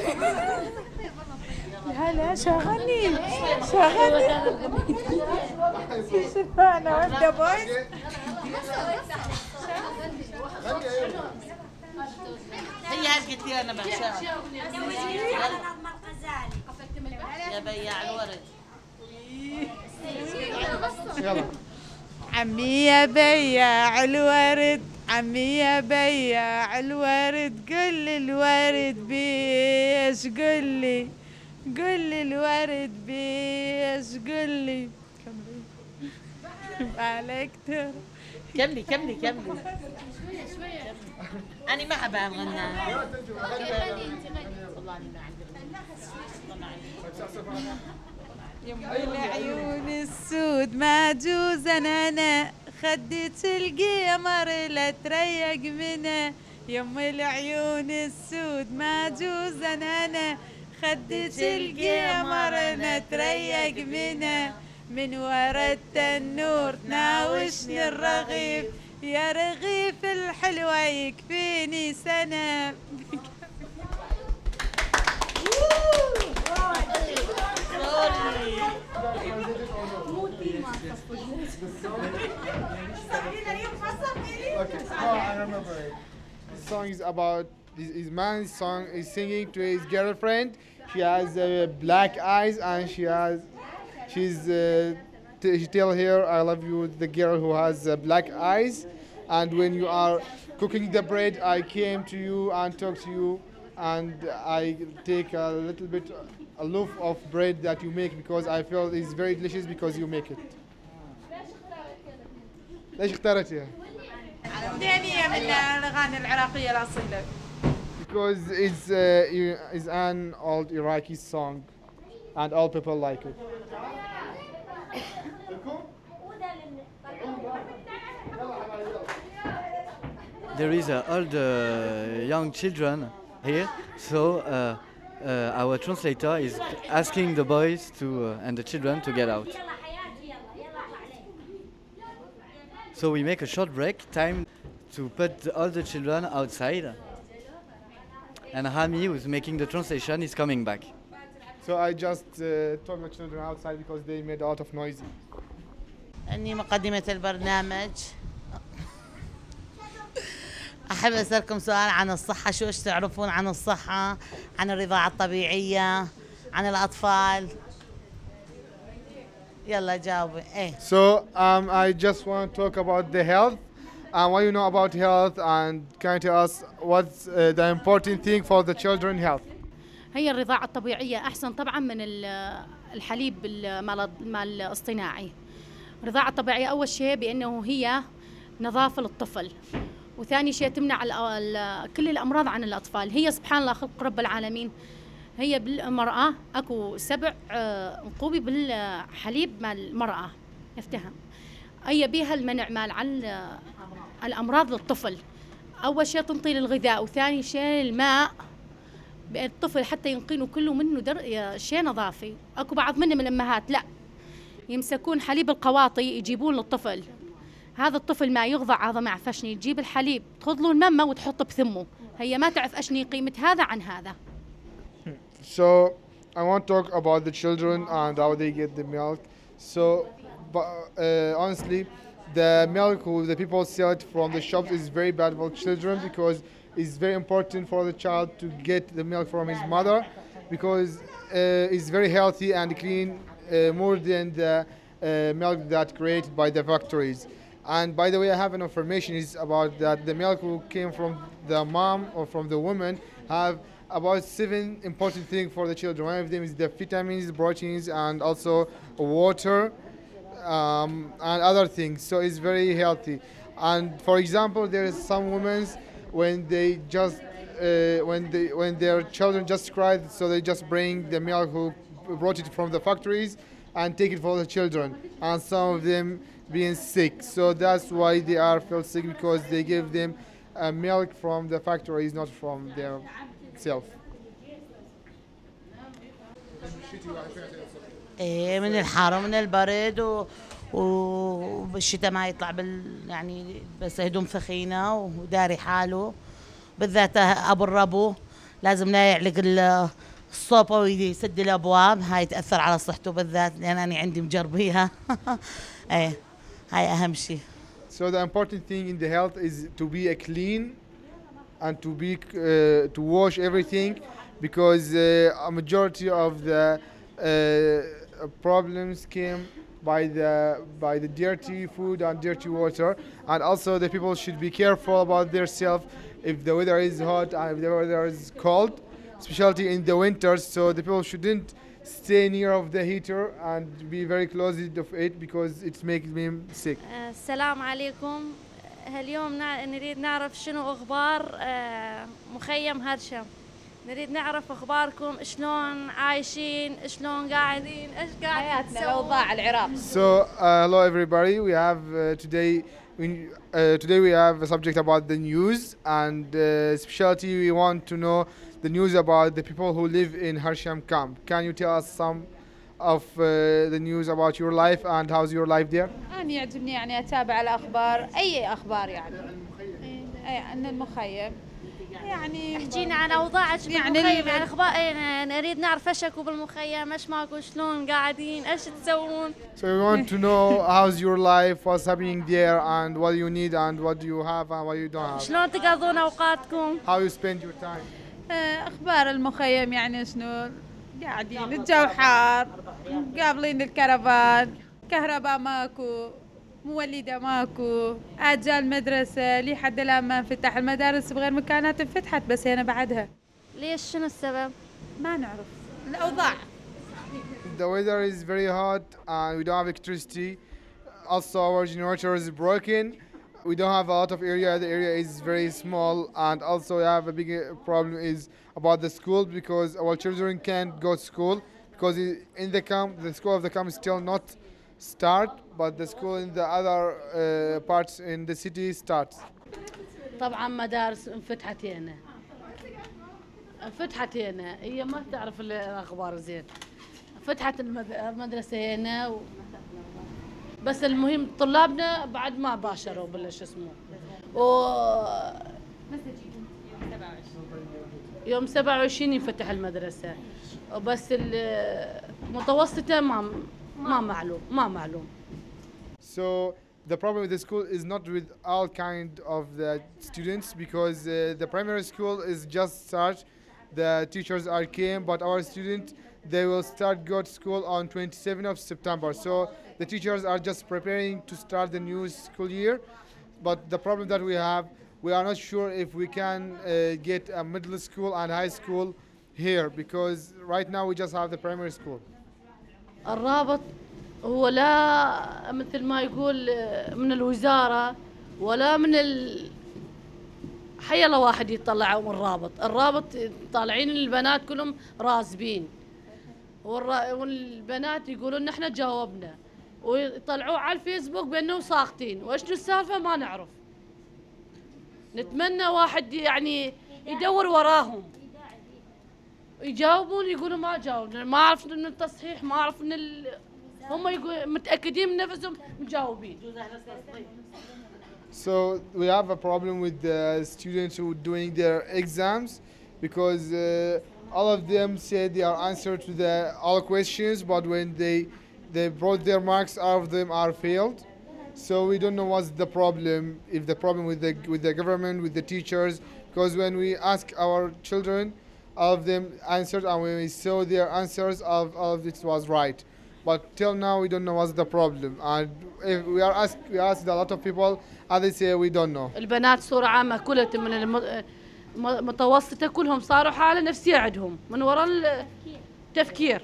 لا لا شغلني شغلني شفانا وابدا بويس. هي هالقت لي أنا بعشقها يا بياع الورد. يلا عمي يا بياع الورد، عمي يا بياع الورد، قل الورد بيش قلي، قل الورد بيش قلي. عليك ترى كملي كملي كملي. أنا ما أحب أغنى. يم العيون السود ما جوز أنا خدت القمر لا تريق منه. يم العيون السود ما جوز أنا خدت القمر لا تريق منه. من ورا التنور تناوشني الرغيف، يا رغيف الحلوة يكفيني سنة. Okay, no, I remember it. This song is about his, his man's song is singing to his girlfriend. She has uh, black eyes and she has, she's, uh, t- she tell her I love you, the girl who has uh, black eyes. And when you are cooking the bread, I came to you and talk to you, and I take a little bit, a loaf of bread that you make because I feel it's very delicious because you make it. ليش اختارتيها؟ دينية من الأغاني العراقية الأصيلة. Because it's uh, it's an old Iraqi song, and all people like it. There is uh, all the young children here, so uh, uh, our translator is asking the boys to uh, and the children to get out. So we make a short break, time to put all the children outside. And Hami, who's making the translation, is coming back. So I just uh, took the children outside because they made a lot of noise. أني مقدمة البرنامج. أحب أسألكم سؤال عن الصحة. شو إيش تعرفون عن الصحة، عن الرضاعة الطبيعية، عن الأطفال؟ يلا جاوبي ايه. So um, I just want to talk about the health and what you know about health, and can you tell us what's uh, the important thing for the children health? هي الرضاعة الطبيعية أحسن طبعا من ال- الحليب ال- مال مال الاصطناعي. الرضاعة الطبيعية أول شيء بأنه هي نظافة للطفل، وثاني شيء تمنع ال- ال- كل الأمراض عن الأطفال. هي سبحان الله خلق رب العالمين، هي بالمرأة أكو سبع آه، نقوبي بالحليب مال المرأة يفتهم. هي بيها المنع مال عن آه، الأمراض للطفل. أول شيء تنطي للغذاء، وثاني شيء الماء بأن الطفل حتى ينقينه كله منه در... يا شيء نظافي. اكو بعض منهم الامهات لا يمسكون حليب القواطي يجيبون للطفل، هذا الطفل ما يغضع هذا ما يعرف اشني، تجيب الحليب تخذ له الممه وتحطه بثمه، هي ما تعرف اشني قيمه هذا عن هذا. So I want to talk about the children and how they get the milk. So but, uh, honestly, the milk who the people sell it from the shops is very bad for children, because it's very important for the child to get the milk from his mother, because uh, it's very healthy and clean, uh, more than the uh, milk that created by the factories. And by the way, I have an information is about that the milk who came from the mom or from the woman have about seven important things for the children. One of them is the vitamins, proteins, and also water, um, and other things. So it's very healthy. And for example, there is some women when they just uh, when they when their children just cried, so they just bring the milk who brought it from the factories and take it for the children. And some of them being sick, so that's why they are feel sick, because they give them uh, milk from the factories, not from their self. ايه من الحر ومن البرد و وبالشتاء ما يطلع بال يعني بس هدوم ثخينه وداري حاله، بالذات ابو الربو لازم لا يعلق ال- الصوبه ويسد الابواب، هاي تاثر على صحته بالذات لان انا عندي مجربيها. ايه هاي اهم شيء. So the important thing in the health is to be a clean and to be uh, to wash everything, because uh, a majority of the uh, problems came by the by the dirty food and dirty water. And also the people should be careful about themselves if the weather is hot and if the weather is cold, especially in the winters. So the people shouldn't stay near of the heater and be very close of it, because it makes them sick. آه، السلام عليكم. هاليوم نا- نريد نعرف شنو أخبار آه، مخيم هرشم. نريد نعرف أخباركم، شلون عايشين، شلون قاعدين، إيش قاعدين حياتنا الأوضاع العراق. So uh, hello everybody. We have uh, today we, uh, today we have a subject about the news, and uh, specialty we want to know the news about the people who live in Harsham camp. Can you tell us some of uh, the news about your life and how's your life there? أنا يعجبني يعني أتابع الأخبار، أي أخبار يعني. أي عن المخيم. يعني احكينا عن أوضاعك يعني بالمخيم، ال- يعني أخبار إيه، نريد نعرف إيش أكو بالمخيم، إيش ماكو، شلون قاعدين، إيش تسوون. So we want to know how's your life, what's happening there, and what you need and what you have and what you don't have. شلون تقضون أوقاتكم. How you spend your time. آه، أخبار المخيم يعني شنو قاعدين، الجو حار، قابلين الكرفان، كهرباء ماكو، مولدة ماكو، آجال مدرسة لي حد الآن ما انفتح، المدارس بغير مكانات انفتحت بس هنا بعدها. ليش شنو السبب؟ ما نعرف الأوضاع. The weather is very hot and we don't have electricity. Also, our generator is broken. We don't have a lot of area. The area is very small, and also we have a big uh, problem is about the school, because our children can't go to school because i- in the camp, the school of the camp is still not start, but the school in the other uh, parts in the city starts. طبعا مدارس انفتحت هنا، انفتحت هنا، هي ما تعرف ال- الاخبار زين. فتحت المد- المدرسه هنا و... بس المهم طلابنا بعد ما باشروا بلا شو اسمه. و يوم سبعة وعشرين ينفتح المدرسه، وبس المتوسطه ما ما معلوم ما معلوم. So the problem with the school is not with all kind of the students, because uh, the primary school is just start, the teachers are came, but our students they will start go to school on twenty-seventh of September. So the teachers are just preparing to start the new school year. But the problem that we have, we are not sure if we can uh, get a middle school and high school here, because right now we just have the primary school. الرابط هو لا مثل ما يقول من الوزارة ولا من ال حي الله واحد يطلعوا من الرابط. الرابط طالعين البنات كلهم رازبين، والبنات يقولون نحن جاوبنا، ويطلعوه على الفيسبوك بأنهم ساقطين، وإيش السالفة ما نعرف. نتمنى واحد يعني يدور وراهم يجاوبون، يقولوا ما جاوبنا، ما أعرف من التصحيح، ما أعرف من ال... هم يقول متأكدين من نفسهم مجاوبين. So we have a problem with the students who are doing their exams, because uh, all of them said they are answered to the all questions, but when they they brought their marks, all of them are failed. So we don't know what's the problem, if the problem with the with the government, with the teachers, because when we ask our children, all of them answered, and when we saw their answers, all of, all of it was right. But till now we don't know what's the problem, and if we are asked we asked a lot of people, and they say we don't know. البنات صورة عامة كلها من المتوسطة كلهم صاروا حالة نفسية عندهم من وراء التفكير.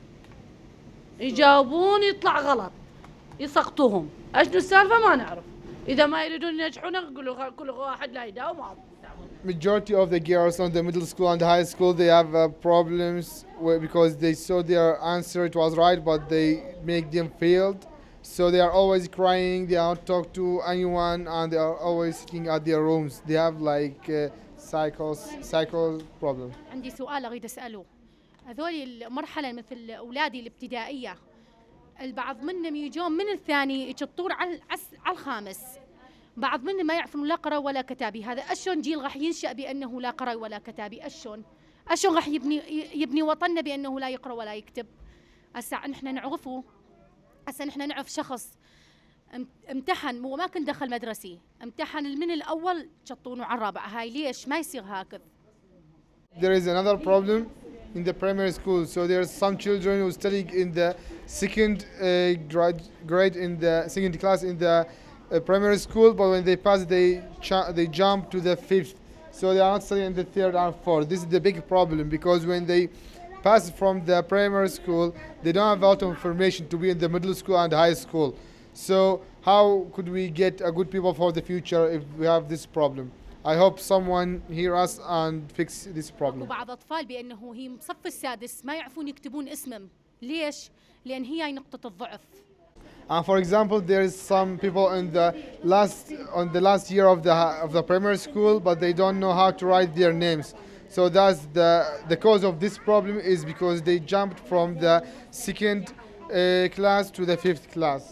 يجاوبون يطلع غلط، يسقطوهم. ايش السالفة ما نعرف. إذا ما يريدون ينجحون يقولوا كل واحد لا يداوم. Majority of the girls on the middle school and the high school, they have uh, problems where, because they saw their answer, it was right, but they make them failed. So they are always crying, they don't talk to anyone, and they are always sitting at their rooms. They have like uh, cycles, cycle problem. عندي سؤال أريد أسأله. هذول المرحلة مثل أولادي الابتدائية، البعض منهم يجون من الثاني يشطون على على الخامس. بعض منهم ما يعرفون لا قراءة ولا كتابي. هذا أشون جيل راح ينشأ بأنه لا قراءة ولا كتابي؟ أشون أشون راح يبني يبني وطننا بأنه لا يقرأ ولا يكتب؟ هسه نحن نعرفه، هسه نحن نعرف شخص امتحن وما كان دخل مدرسي، امتحن من الأول شطونه على الرابع. هاي ليش ما يصير هكذا؟ There is another problem in the primary school. So there are some children who study in the second uh, grade, grade in the second class in the uh, primary school, but when they pass, they ch- they jump to the fifth. So they are not studying in the third and fourth. This is the big problem, because when they pass from the primary school, they don't have a lot of information to be in the middle school and high school. So how could we get a good people for the future if we have this problem? I hope someone hear us and fix this problem. وبعض أطفال بأنه هي صف السادس ما يعرفون يكتبون اسمهم. ليش؟ لأن هي نقطة الضعف. And for example, there is some people in the last on the last year of the of the primary school, but they don't know how to write their names. So that's the the cause of this problem is because they jumped from the second uh, class to the fifth class.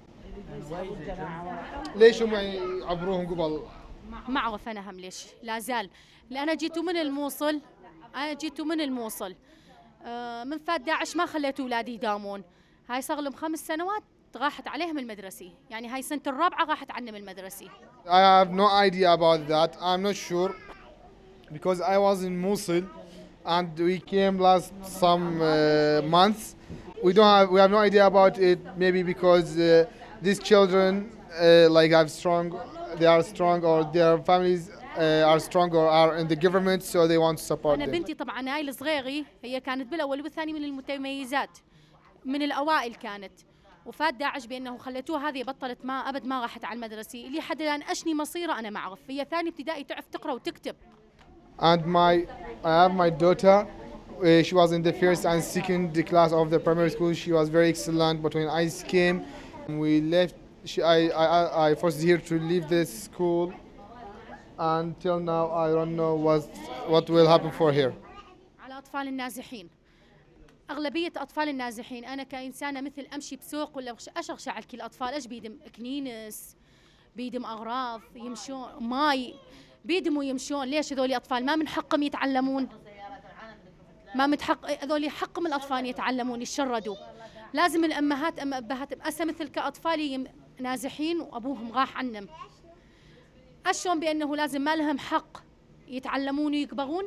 ليش هم يعبروهم قبل؟ ما أعرف أنا هم ليش لا زال. لأن جيتوا من الموصل، أنا جيتوا من الموصل. آه من فات داعش ما خليت أولادي يداومون. هاي صار لهم خمس سنوات راحت عليهم المدرسي، يعني هاي سنة الرابعة راحت عنهم المدرسي. I have no idea about that. I'm not sure because I was in Mosul and we came last some uh, months. We don't have we have no idea about it. Maybe because uh, these children uh, like have strong, they are strong, or their families uh, are strong or are in the government, so they want to support أنا them. بنتي طبعا هاي الصغيرة هي كانت بالأول والثاني من المتميزات، من الأوائل كانت. وفات داعش بأنه خليتوها هذه بطلت ما أبد ما راحت على المدرسة. اللي حد الآن أشني مصيرة أنا ما أعرف. هي ثاني ابتدائي تعرف تقرأ وتكتب. And my I have my daughter. Uh, she was in the first and second class of the primary school. She was very excellent. But when ICE came, we left. She, I, I, I forced her to leave the school. Until now, I don't know what what will happen for her. على أطفال النازحين. أغلبية أطفال النازحين أنا كإنسانة مثل أمشي بسوق ولا أشغش على كل الأطفال إيش بيدم كنينس، بيدم أغراض، يمشون ماي، بيدم ويمشون. ليش هذول أطفال ما من حقهم يتعلمون؟ ما متحق هذول حقهم الأطفال يتعلمون يتشردوا. لازم الأمهات أم أبهات أسا مثل كأطفال نازحين وأبوهم راح عنهم. أشون بأنه لازم ما لهم حق يتعلمون ويكبرون؟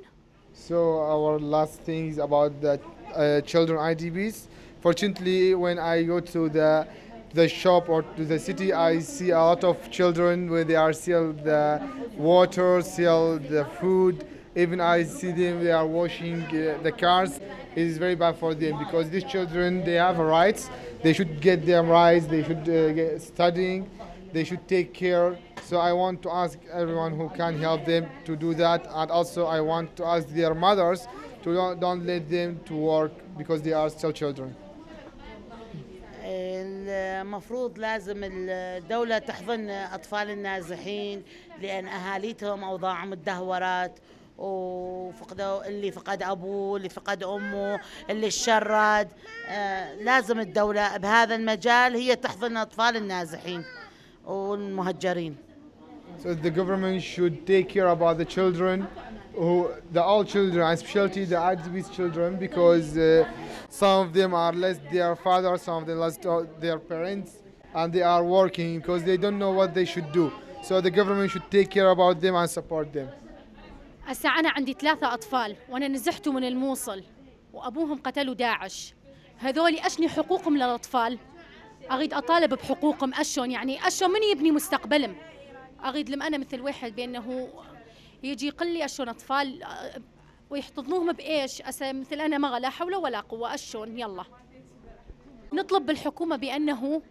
So our last thing is about the uh, children I D Bs. Fortunately, when I go to the the shop or to the city, I see a lot of children where they are sell the water, sell the food. Even I see them, they are washing uh, the cars. It is very bad for them because these children, they have rights. They should get their rights. They should uh, get studying. They should take care. So I want to ask everyone who can help them to do that. And also I want to ask their mothers to don't, don't let them to work because they are still children. المفروض لازم الدولة تحضن أطفال النازحين لأن أهاليتهم أوضاعهم تدهورت وفقدوا اللي فقد أبوه اللي فقد أمه اللي الشرد آه لازم الدولة بهذا المجال هي تحضن أطفال النازحين والمهجرين. So the government should take care about the children, who the all children, especially the I D B's children, because uh, some of them are lost their father, some of them lost their parents, and they are working because they don't know what they should do. So the government should take care about them and support them. هسا أنا عندي ثلاثة أطفال وأنا نزحته من الموصل وأبوهم قتلوا داعش. هذولي أشني حقوقهم للأطفال؟ أريد أطالب بحقوقهم أشون يعني أشون من يبني مستقبلهم؟ أريد لم أنا مثل واحد بأنه يجي يقول لي أشون أطفال ويحتضنوهم بإيش؟ أسا مثل أنا ما لا حول ولا قوة أشون يلا. نطلب بالحكومة بأنه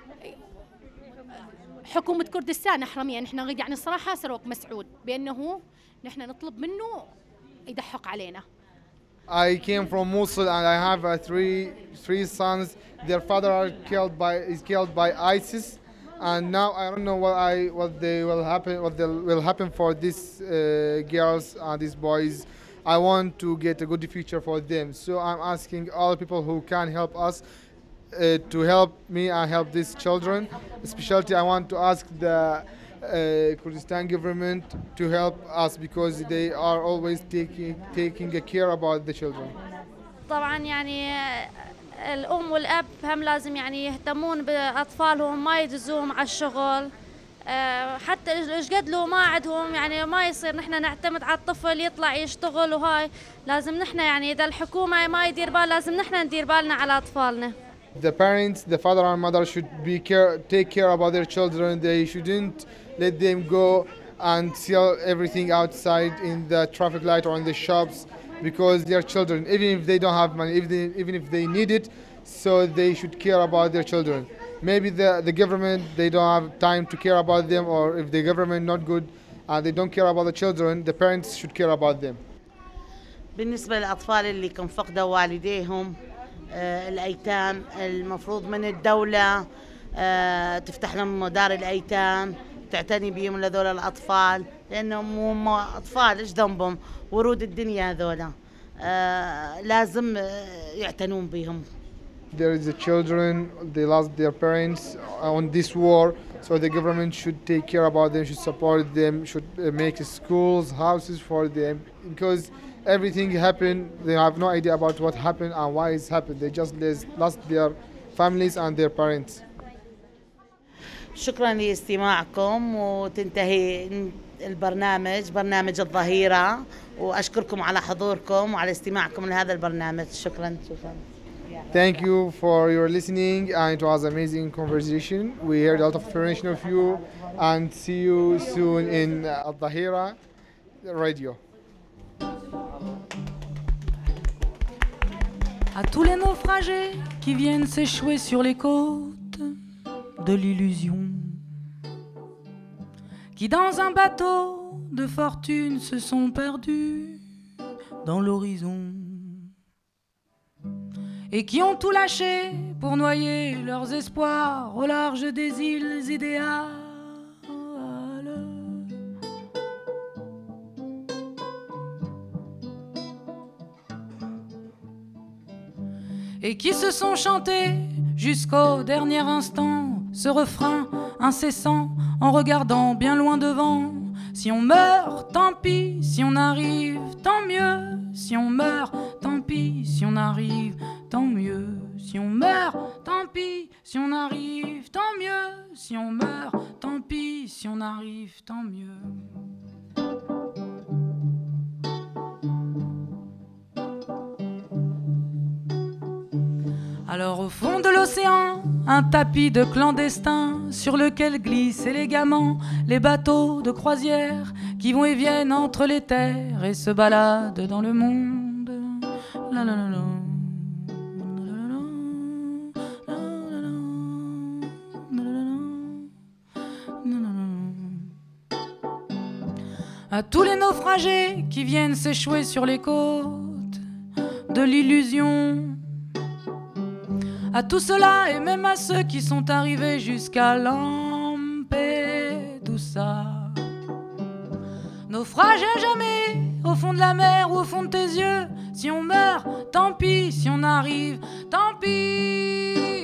حكومة كردستان أحرمية نحن نريد يعني الصراحة سروق مسعود بأنه نحن نطلب منه يدحق علينا. I came from Mosul and I have uh, three three sons. Their father are killed by is killed by ISIS, and now I don't know what I what they will happen what they will happen for these uh, girls and these boys. I want to get a good future for them. So I'm asking all people who can help us uh, to help me and help these children. Especially I want to ask the Uh, Kurdistan government to help us because they are always taking taking a care about the children. طبعا يعني الأم والأب هم لازم يعني يهتمون بأطفالهم ما يدزوهم على الشغل حتى إيش قد لو ما عندهم يعني ما يصير نحن نعتمد على الطفل يطلع يشتغل وهاي لازم نحن يعني إذا الحكومة ما يدير بال لازم نحن ندير بالنا على أطفالنا. The parents, the father and mother should be care take care about their children. They shouldn't let them go and sell everything outside in the traffic light or in the shops because they are children. Even if they don't have money, even they, even if they need it, so they should care about their children. Maybe the, the government, they don't have time to care about them, or if the government not good and they don't care about the children, the parents should care about them. بالنسبة للأطفال اللي كان فقدوا والديهم آه الأيتام المفروض من الدولة آه تفتح لهم دار الأيتام تعتني بهم لذول الأطفال لأنهم هم أطفال إيش ذنبهم ورود الدنيا هذولا آه لازم يعتنون بهم. There is the children, they lost their parents on this war, so the government should take care about them, should support them, should make schools, houses for them, because everything happened, they have no idea about what happened and why it's happened. They just lost their families and their parents. شكرا لاستماعكم وتنتهي البرنامج برنامج الظهيرة وأشكركم على حضوركم وعلى استماعكم لهذا البرنامج. شكرا شكرا. Thank you for your listening and it was an amazing conversation. We heard a lot of information of you and see you soon in Al-Dhahira Radio. À tous les naufragés qui viennent s'échouer sur les côtes de l'illusion, qui dans un bateau de fortune se sont perdus dans l'horizon et qui ont tout lâché pour noyer leurs espoirs au large des îles idéales. Et qui se sont chantés jusqu'au dernier instant ce refrain incessant en regardant bien loin devant. Si on meurt, tant pis, si on arrive, tant mieux. Si on meurt, tant pis, si on arrive, tant mieux. Si on meurt, tant pis, si on arrive, tant mieux. Si on meurt, tant pis, si on arrive, tant mieux. Alors au fond de l'océan, un tapis de clandestins sur lequel glissent élégamment les bateaux de croisière qui vont et viennent entre les terres et se baladent dans le monde. La la la la. À tous les naufragés qui viennent s'échouer sur les côtes de l'illusion, à tout cela et même à ceux qui sont arrivés jusqu'à Lampedusa. Naufrage à jamais au fond de la mer ou au fond de tes yeux. Si on meurt, tant pis. Si on arrive, tant pis.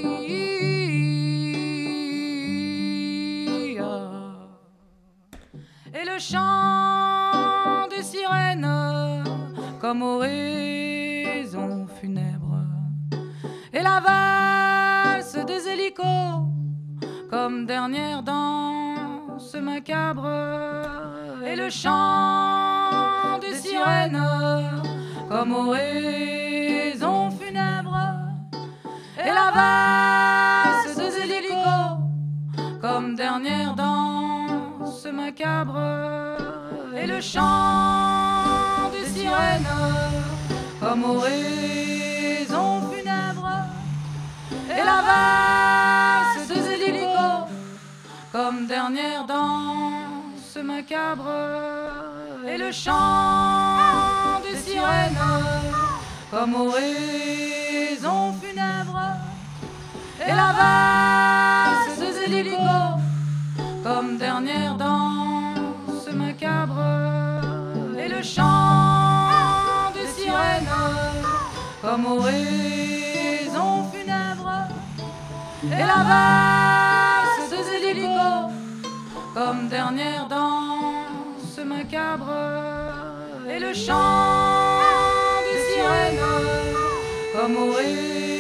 Et le chant des sirènes comme oraison funèbre, et la valse des hélicos comme dernière danse macabre, et le chant des sirènes comme oraison funèbre, et la valse des hélicos comme dernière danse macabre, et le chant des sirènes comme oraison funèbre, et la valse des hélicos comme dernière danse macabre, et le chant des sirènes comme oraison funèbre, et la valse des hélicos comme dernière danse macabre, et le chant des sirènes comme oraison funèbre, et la valse des hélicos comme dernière danse macabre, et le chant des sirènes comme oraison